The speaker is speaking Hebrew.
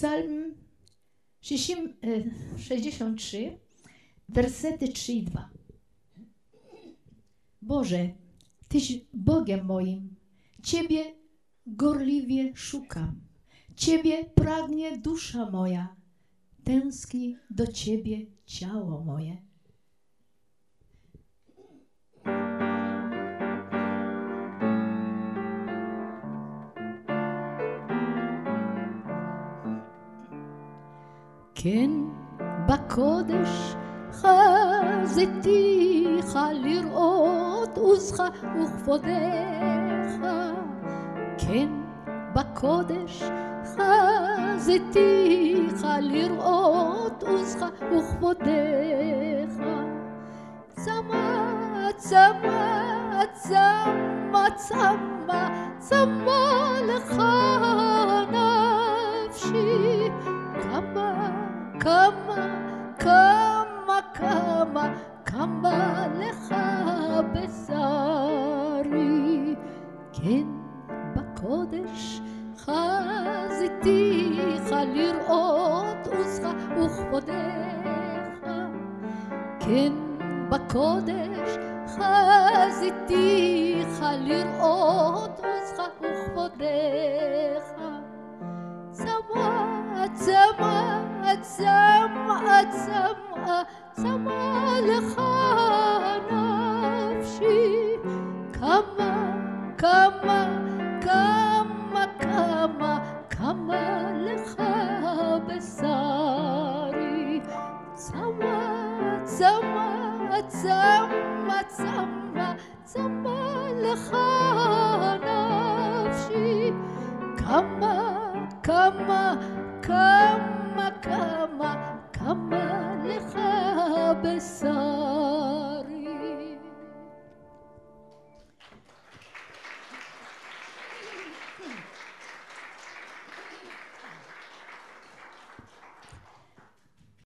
Psalm 63, wersety 3 i 2. Boże, Tyś Bogiem moim, Ciebie gorliwie szukam, Ciebie pragnie dusza moja, tęskni do Ciebie ciało moje. כן, בקודש חזיתיך לראות עוזך וכבודך. כן, בקודש חזיתיך לראות עוזך וכבודך. צמא, צמא, צמא, צמא, צמא לך נפשי. כמה לך בשרי. כן, בקודש חזיתיך לראות עוזך וכבודך. כן, בקודש חזיתיך לראות עוזך וכבודך. צמא, צמא, צמא, צמא, צמא לך נפשי. כמה לך בשרי. צמא, צמא, צמא, צמא, צמא לך נפשי. כמה לך בשרי.